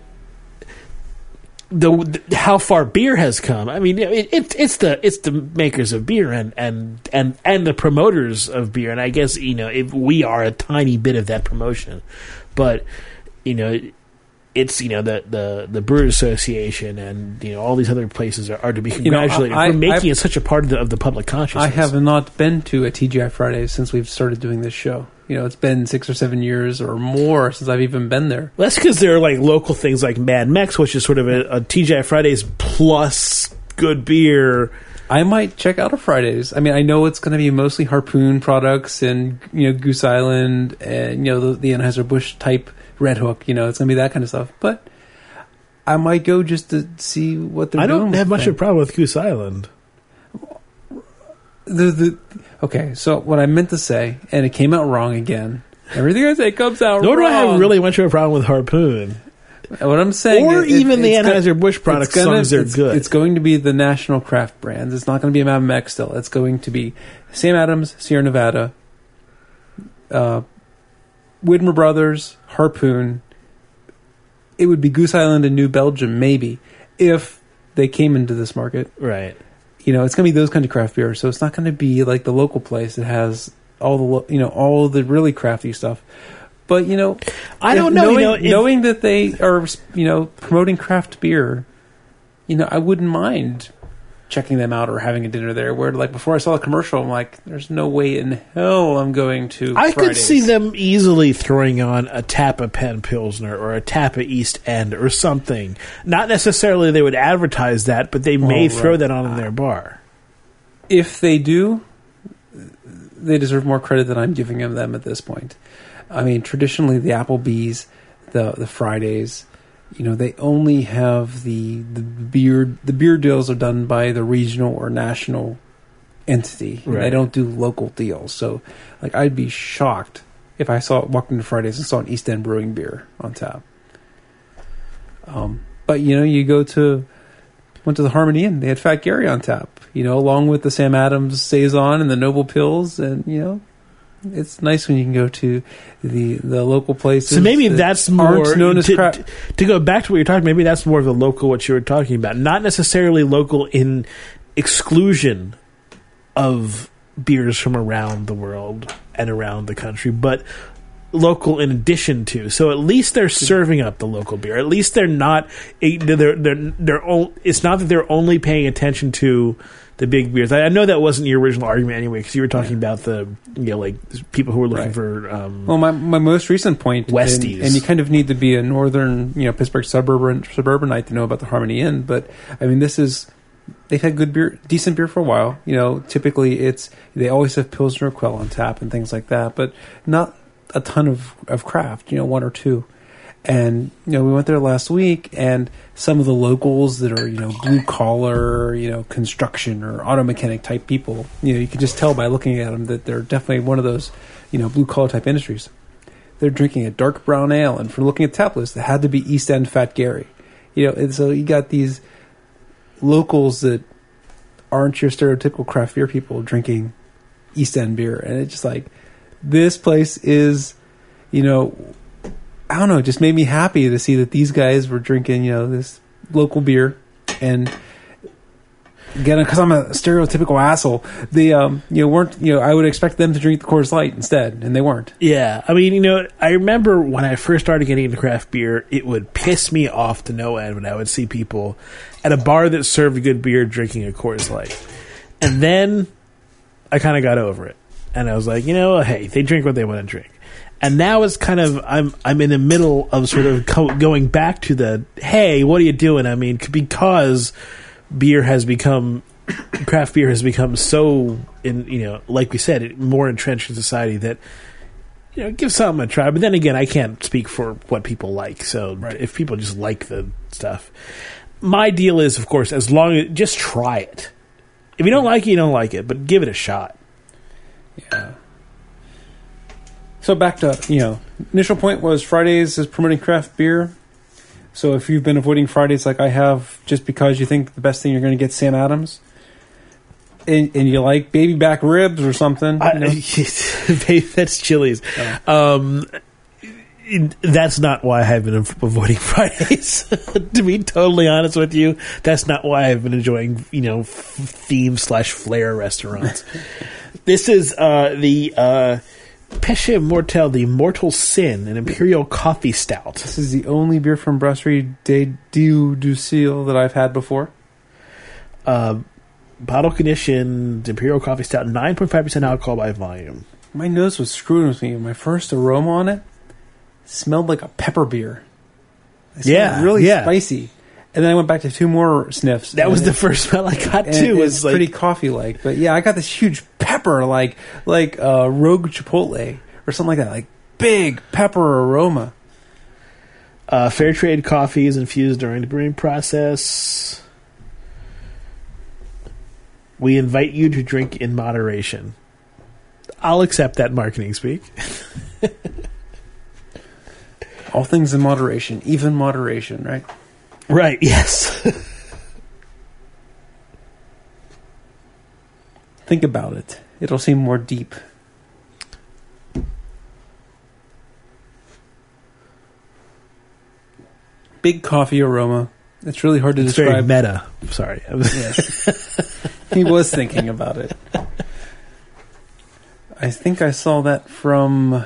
how far beer has come. I mean, it's the makers of beer and the promoters of beer, and I guess if we are a tiny bit of that promotion, but it's the Brewers Association and all these other places are to be congratulated for making it such a part of the public consciousness.
I have not been to a TGI Fridays since we've started doing this show. It's been 6 or 7 years or more since I've even been there.
Well, that's because there are like local things like Mad Mex, which is sort of a TGI Fridays plus good beer.
I might check out a Fridays. I mean, I know it's going to be mostly Harpoon products and Goose Island and the Anheuser-Busch type Red Hook. It's going to be that kind of stuff. But I might go just to see what they're doing.
I don't have much of a problem with Goose Island.
Okay, so what I meant to say, and it came out wrong again. Everything I say comes out wrong.
Nor do I have really much of a problem with Harpoon.
What I'm saying,
or even the Anheuser-Busch products, as long as they're good.
It's going to be the national craft brands. It's not going to be a Mad Mex still. It's going to be Sam Adams, Sierra Nevada, Widmer Brothers, Harpoon. It would be Goose Island and New Belgium, maybe, if they came into this market.
Right.
It's going to be those kind of craft beers. So it's not going to be like the local place that has all the really crafty stuff. But
I don't know.
Knowing that they are promoting craft beer, I wouldn't mind checking them out or having a dinner there. Where like before I saw the commercial, I'm like, there's no way in hell I'm going to.
I could see them easily throwing on a Tappa Penn Pilsner or a Tappa East End or something. Not necessarily they would advertise that, but they may throw that on in their bar.
If they do, they deserve more credit than I'm giving them at this point. I mean, traditionally the Applebee's, the Fridays, they only have the beer. The beer deals are done by the regional or national entity. Right. They don't do local deals. So, like, I'd be shocked if I walked into Fridays and saw an East End Brewing beer on tap. But you went to the Harmony Inn. They had Fat Gary on tap. Along with the Sam Adams Saison and the Noble Pills, and it's nice when you can go to the local places.
So maybe that's more
known as
to go back to what you're talking. Maybe that's more of the local what you were talking about, not necessarily local in exclusion of beers from around the world and around the country, but local in addition to. So at least they're serving up the local beer. At least they're not. It's not that they're only paying attention to the big beers. I know that wasn't your original argument anyway, because you were talking about the like people who were looking for.
Well, my most recent point,
Westies,
and you kind of need to be a northern, Pittsburgh suburbanite to know about the Harmony Inn. But I mean, they've had good beer, decent beer for a while. Typically they always have Pilsner Quell on tap and things like that, but not a ton of craft. One or two. And we went there last week, and some of the locals that are blue collar, construction or auto mechanic type people, you can just tell by looking at them that they're definitely one of those blue collar type industries. They're drinking a dark brown ale, and for looking at the tap list, it had to be East End Fat Gary, And so you got these locals that aren't your stereotypical craft beer people drinking East End beer, and it's just like this place is, I don't know, it just made me happy to see that these guys were drinking, this local beer. And again, because I'm a stereotypical asshole, they, weren't, I would expect them to drink the Coors Light instead, and they weren't.
Yeah. I mean, I remember when I first started getting into craft beer, it would piss me off to no end when I would see people at a bar that served good beer drinking a Coors Light. And then I kind of got over it. And I was like, hey, they drink what they want to drink. And now it's kind of, I'm in the middle of sort of going back to the, hey, what are you doing? I mean, because craft beer has become so, like we said, more entrenched in society that, give something a try. But then again, I can't speak for what people like. So if people just like the stuff. My deal is, of course, as long as, just try it. If you don't like it, you don't like it, but give it a shot.
Yeah. So back to, initial point was Fridays is promoting craft beer. So if you've been avoiding Fridays like I have, just because you think the best thing you're going to get Sam Adams, and you like baby back ribs or something.
That's Chili's.
Oh.
That's not why I've been avoiding Fridays. To be totally honest with you, that's not why I've been enjoying, theme/flair restaurants. This is the Péché Mortel, the Mortal Sin, an Imperial Coffee Stout.
This is the only beer from Brasserie des Dieux du Ciel that I've had before.
Bottle conditioned Imperial Coffee Stout, 9.5% alcohol by volume.
My nose was screwing with me. My first aroma on it smelled like a pepper beer. Really spicy. And then I went back to 2 more sniffs.
That was the first smell I got too.
It's pretty coffee-like, but yeah, I got this huge pepper, like Rogue Chipotle or something like that, like big pepper aroma.
Fair trade coffee is infused during the brewing process. We invite you to drink in moderation. I'll accept that marketing speak.
All things in moderation, even moderation, right?
Right, yes.
Think about it. It'll seem more deep. Big coffee aroma. It's really hard to describe.
Very meta. Sorry.
Yes. He was thinking about it. I think I saw that from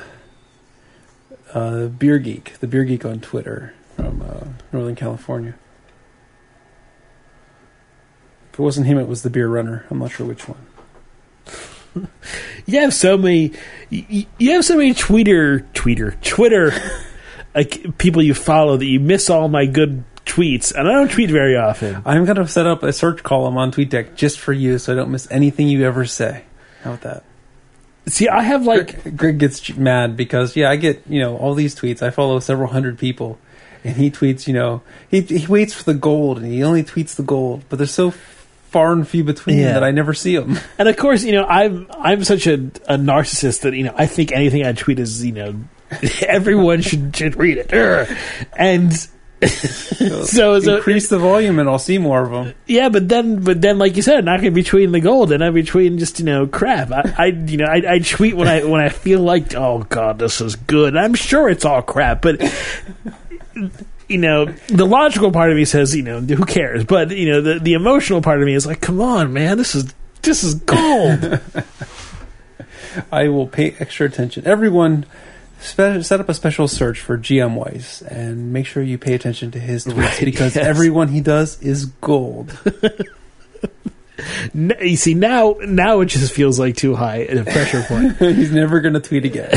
Beer Geek, the Beer Geek on Twitter from Northern California. If it wasn't him, it was the Beer Runner. I'm not sure which one.
You have so many. You have so many Twitter people you follow that you miss all my good tweets, and I don't tweet very often.
I'm going to set up a search column on TweetDeck just for you, so I don't miss anything you ever say. How about that?
See, I have
Greg gets mad because I get all these tweets. I follow several hundred people, and he tweets. He waits for the gold, and he only tweets the gold. But there's so far and few between that I never see them.
And of course, I'm such a narcissist that I think anything I tweet is everyone should read it, and. So
increase the volume and I'll see more of them.
Yeah, but then, like you said, not going to be tweeting the gold, and I'd be tweeting just crap. I tweet when I feel like, oh god, this is good. I'm sure it's all crap, but the logical part of me says, who cares? But the emotional part of me is like, come on, man, this is gold.
I will pay extra attention. Everyone. Set up a special search for GM Weiss and make sure you pay attention to his tweets because everyone he does is gold.
You see, now it just feels like too high a pressure point.
He's never going to tweet again.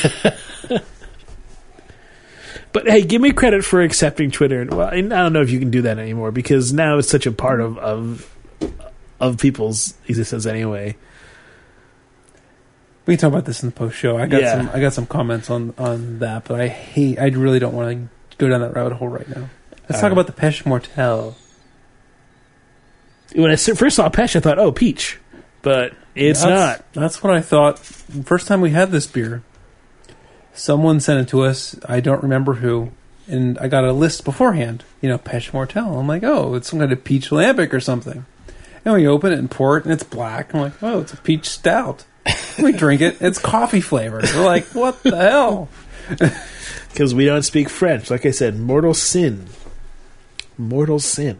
But hey, give me credit for accepting Twitter. Well, I don't know if you can do that anymore because now it's such a part of people's existence anyway.
We can talk about this in the post show. I got some comments on that, but I really don't want to go down that rabbit hole right now. Let's talk about the Péché Mortel.
When I first saw Péché, I thought, oh, peach, but it's not.
That's what I thought. First time we had this beer, someone sent it to us. I don't remember who, and I got a list beforehand. Péché Mortel. I'm like, oh, it's some kind of peach lambic or something. And we open it and pour it, and it's black. I'm like, oh, it's a peach stout. We drink it. It's coffee flavored. We're like, what the hell?
Because we don't speak French. Like I said, Mortal Sin. Mortal Sin.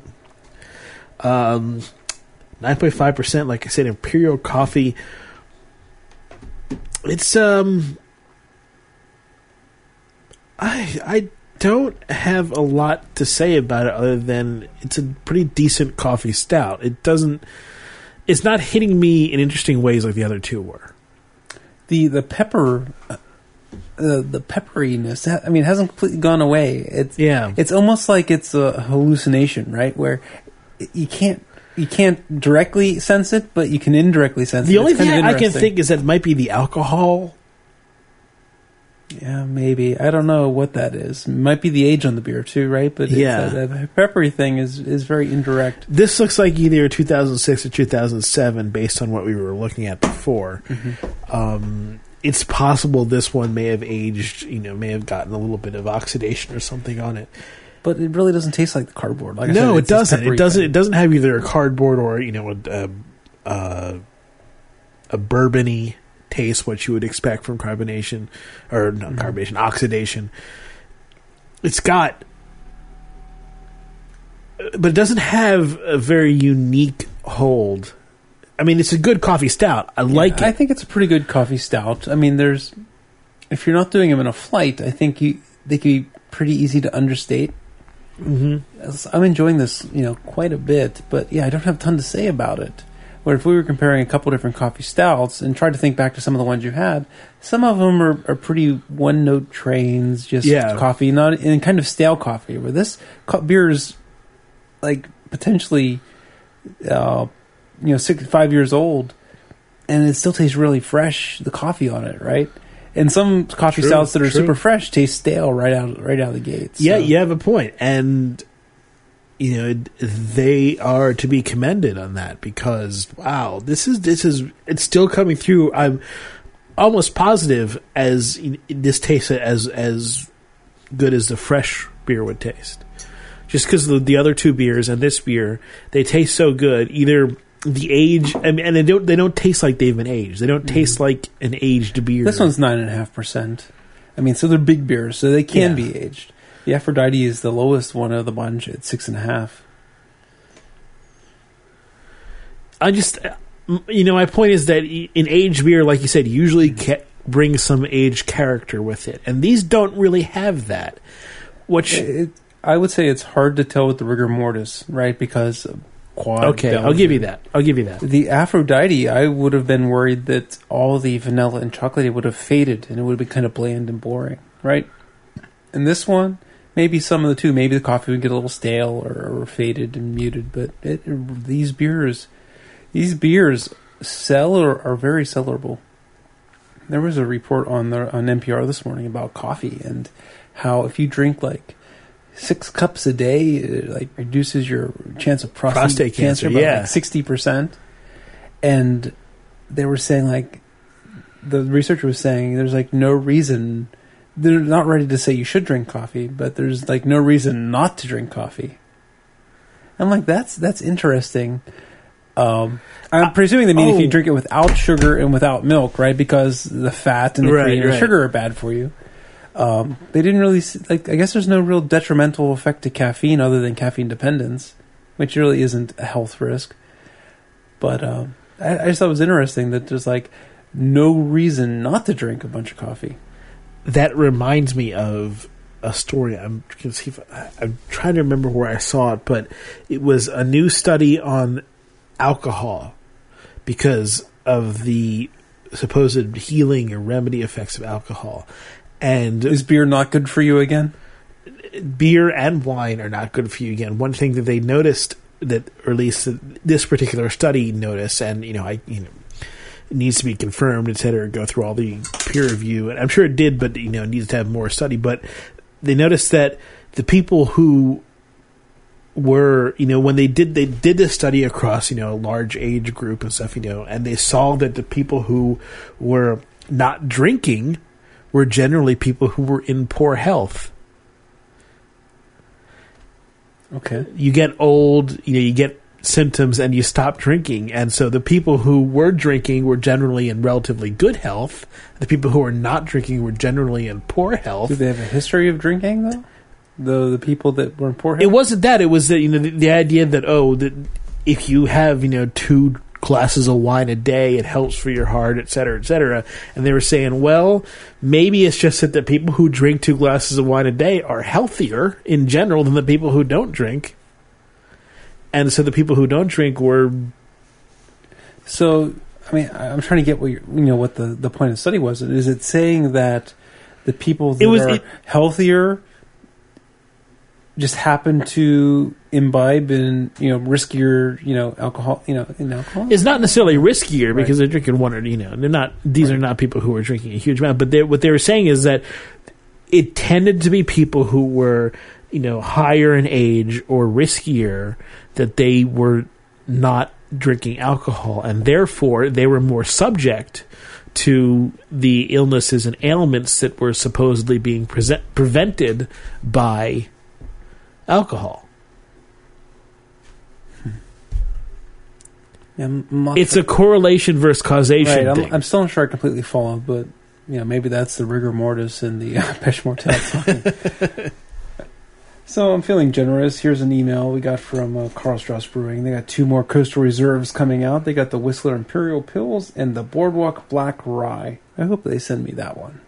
9.5%, like I said, Imperial Coffee. It's, I don't have a lot to say about it other than it's a pretty decent coffee stout. It's it's not hitting me in interesting ways like the other two were.
The pepper, the pepperiness. I mean, it hasn't completely gone away. It's almost like it's a hallucination, right? Where you can't directly sense it, but you can indirectly sense it.
The only thing I can think is that it might be the alcohol.
Yeah, maybe. I don't know what that is. It might be the age on the beer too, right? But the peppery thing is very indirect.
This looks like either 2006 or 2007 based on what we were looking at before.
Mm-hmm.
It's possible this one may have aged, may have gotten a little bit of oxidation or something on it.
But it really doesn't taste like the cardboard. Like
no,
I said,
it doesn't. It doesn't.
Thing.
It doesn't have either a cardboard or a bourbony taste, what you would expect from carbonation, or not carbonation, oxidation. It's got, but it doesn't have a very unique hold. I mean, it's a good coffee stout. I like it.
I think it's a pretty good coffee stout. I mean, if you're not doing them in a flight, I think they could be pretty easy to understate. Mm-hmm. I'm enjoying this, quite a bit, but I don't have a ton to say about it. Where if we were comparing a couple different coffee stouts and tried to think back to some of the ones you had, some of them are pretty one-note trains, just coffee, not in kind of stale coffee. Where this beer is like potentially, 65 years old, and it still tastes really fresh. The coffee on it, right? And some coffee stouts that are super fresh taste stale right out of the gates.
Yeah, you have a point, and they are to be commended on that because wow, this is it's still coming through. I'm almost positive as this tastes as good as the fresh beer would taste, just because the other two beers and this beer, they taste so good. Either the age, and they don't taste like they've been aged. They don't taste like an aged beer.
This one's 9.5%. I mean, so they're big beers, so they can be aged. The Aphrodite is the lowest one of the bunch at 6.5.
My point is that in aged beer, like you said, usually brings some aged character with it, and these don't really have that.
I would say it's hard to tell with the rigor mortis, right? Because quad.
Okay, I'll give you that.
The Aphrodite, I would have been worried that all the vanilla and chocolate would have faded, and it would be kind of bland and boring, right? And this one, maybe some of the two. Maybe the coffee would get a little stale or faded and muted. But these beers sell or are very sellerable. There was a report on NPR this morning about coffee and how if you drink like 6 cups a day, it like reduces your chance of prostate cancer by like 60%. And they were saying like the researcher was saying there's like no reason. They're not ready to say you should drink coffee, but there's like no reason not to drink coffee. I'm like, that's interesting. I'm presuming they mean if you drink it without sugar and without milk, right? Because the fat and the cream and sugar are bad for you. They didn't really I guess there's no real detrimental effect to caffeine other than caffeine dependence, which really isn't a health risk. But I just thought it was interesting that there's like no reason not to drink a bunch of coffee.
That reminds me of a story. I'm trying to remember where I saw it, but it was a new study on alcohol because of the supposed healing or remedy effects of alcohol. And
is beer not good for you again?
Beer and wine are not good for you again. One thing that they noticed, that, or at least this particular study noticed, and it needs to be confirmed, et cetera, go through all the peer review, and I'm sure it did, but it needs to have more study. But they noticed that the people who were, when they did this study across, a large age group and stuff, and they saw that the people who were not drinking were generally people who were in poor health.
Okay.
You get old, you get symptoms and you stop drinking. And so the people who were drinking were generally in relatively good health. The people who were not drinking were generally in poor health.
Do they have a history of drinking, though? The people that were in poor health?
It wasn't that. It was that, the idea that, that if you have, 2 glasses of wine a day, it helps for your heart, et cetera, et cetera. And they were saying, well, maybe it's just that the people who drink 2 glasses of wine a day are healthier in general than the people who don't drink. And so the people who don't drink were
So, I mean, I'm trying to get what the point of the study was. Is it saying that the people that are healthier just happen to imbibe in riskier alcohol in alcohol?
It's not necessarily riskier because they're drinking one or they're not. These are not people who are drinking a huge amount. But what they were saying is that it tended to be people who were higher in age or riskier, that they were not drinking alcohol, and therefore they were more subject to the illnesses and ailments that were supposedly being prevented by alcohol.
Yeah,
it's a correlation versus causation thing.
I'm still not sure I completely follow, but maybe that's the rigor mortis in the Pêche Mortel. So I'm feeling generous. Here's an email we got from Karl Strauss Brewing. They got 2 more Coastal Reserves coming out. They got the Whistler Imperial Pils and the Boardwalk Black Rye. I hope they send me that one.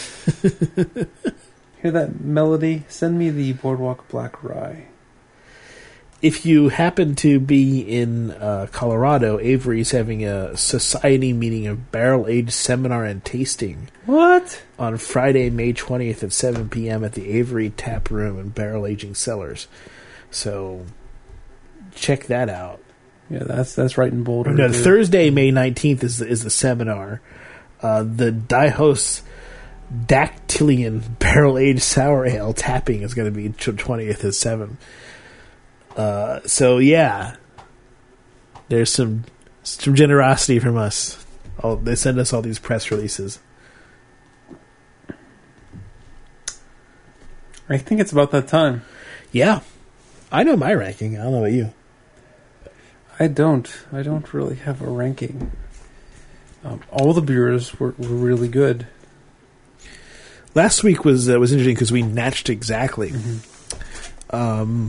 Hear that melody? Send me the Boardwalk Black Rye.
If you happen to be in Colorado, Avery's having a society meeting of barrel-aged seminar and tasting.
What?
On Friday, May 20th at 7 p.m. at the Avery Tap Room and Barrel Aging Cellars. So, check that out.
Yeah, that's right in Boulder.
No, Thursday, May 19th is the seminar. The Daihost Dactylian Barrel-Aged Sour Ale tapping is going to be 20th at 7. So yeah, there's some generosity from us. They send us all these press releases.
I think it's about that time.
Yeah, I know my ranking. I don't know about you.
I don't really have a ranking. All the beers were really good.
Last week was interesting because we matched exactly.
Mm-hmm.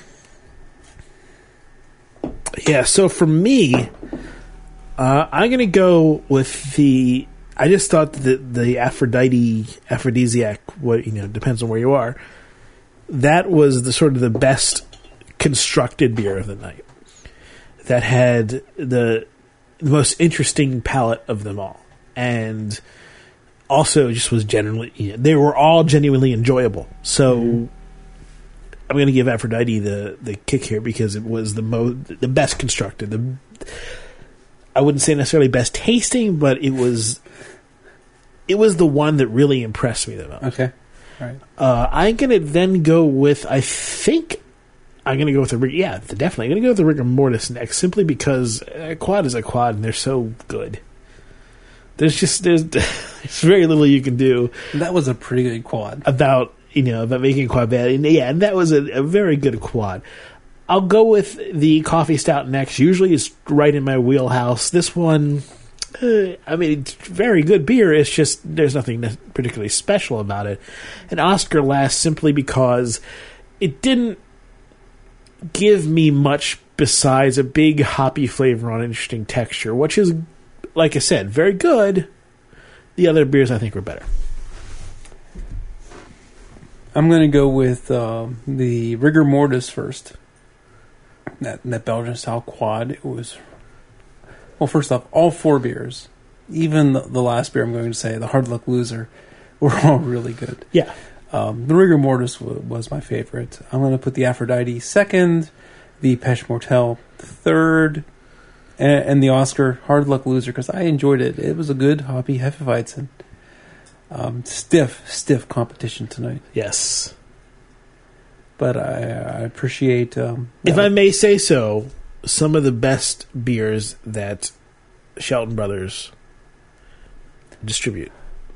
Yeah, so for me, I'm going to go with the... I just thought that the aphrodisiac, depends on where you are, that was the sort of the best constructed beer of the night. That had the most interesting palate of them all. And also just was generally... they were all genuinely enjoyable. So... Mm-hmm. I'm going to give Aphrodite the kick here because it was the best constructed. I wouldn't say necessarily best tasting, but it was the one that really impressed me the most.
Okay, all right.
I'm going to then go with. I think I'm going to go with definitely. I'm going to go with the Rigor Mortis next, simply because a quad is a quad, and they're so good. There's very little you can do.
That was a pretty good quad
about making quad bad. And that was a very good quad. I'll go with the Coffee Stout next. Usually it's right in my wheelhouse. This one, it's very good beer. It's just there's nothing particularly special about it. And Oscar last simply because it didn't give me much besides a big hoppy flavor on interesting texture, which is, like I said, very good. The other beers I think were better.
I'm going to go with the Rigor Mortis first. That Belgian style quad. It was, well, first off, all 4 beers, even the last beer I'm going to say, the Hard Luck Loser, were all really good.
Yeah.
The Rigor Mortis was my favorite. I'm going to put the Aphrodite second, the Pêche Mortel third, and the Oscar Hard Luck Loser because I enjoyed it. It was a good hoppy Hefeweizen. Stiff competition tonight.
Yes.
But I appreciate...
if I may say so, some of the best beers that Shelton Brothers distribute.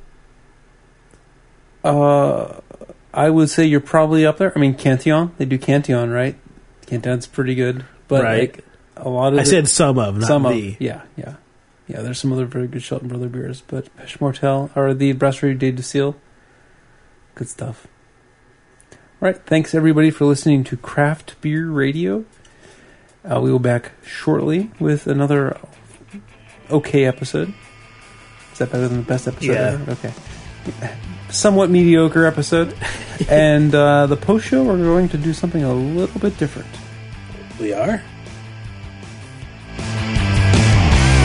I would say you're probably up there. I mean, Cantillon. They do Cantillon, right? Cantillon's pretty good. But
right.
A lot of...
I said some of, not the...
Yeah. Yeah, there's some other very good Shelton Brother beers, but Pêche Mortel or the Brasserie des Deux Sils, good stuff. All right, thanks everybody for listening to Craft Beer Radio. We will be back shortly with another okay episode. Is that better than the best episode ever? Okay. Somewhat mediocre episode. And the post show, we're going to do something a little bit different.
We are?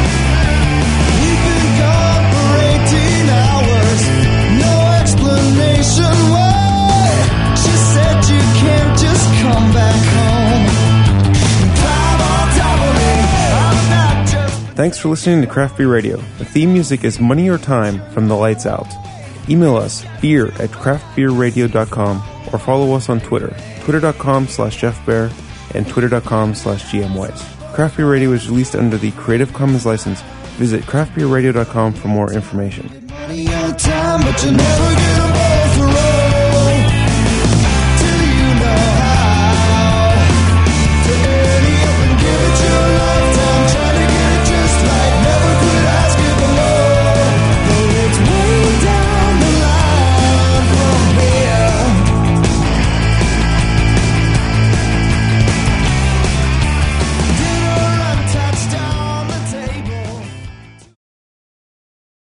nationwide. She said you can't just come back home and climb on top of me. I'm not just.
Thanks for listening to Craft Beer Radio. The theme music is Money or Time from The Lights Out. Email us beer@craftbeerradio.com or follow us on Twitter, twitter.com/JeffBear and twitter.com/GMWise. Craft Beer Radio is released under the Creative Commons license. Visit craftbeerradio.com for more information.
Money or time, but you never get them both right.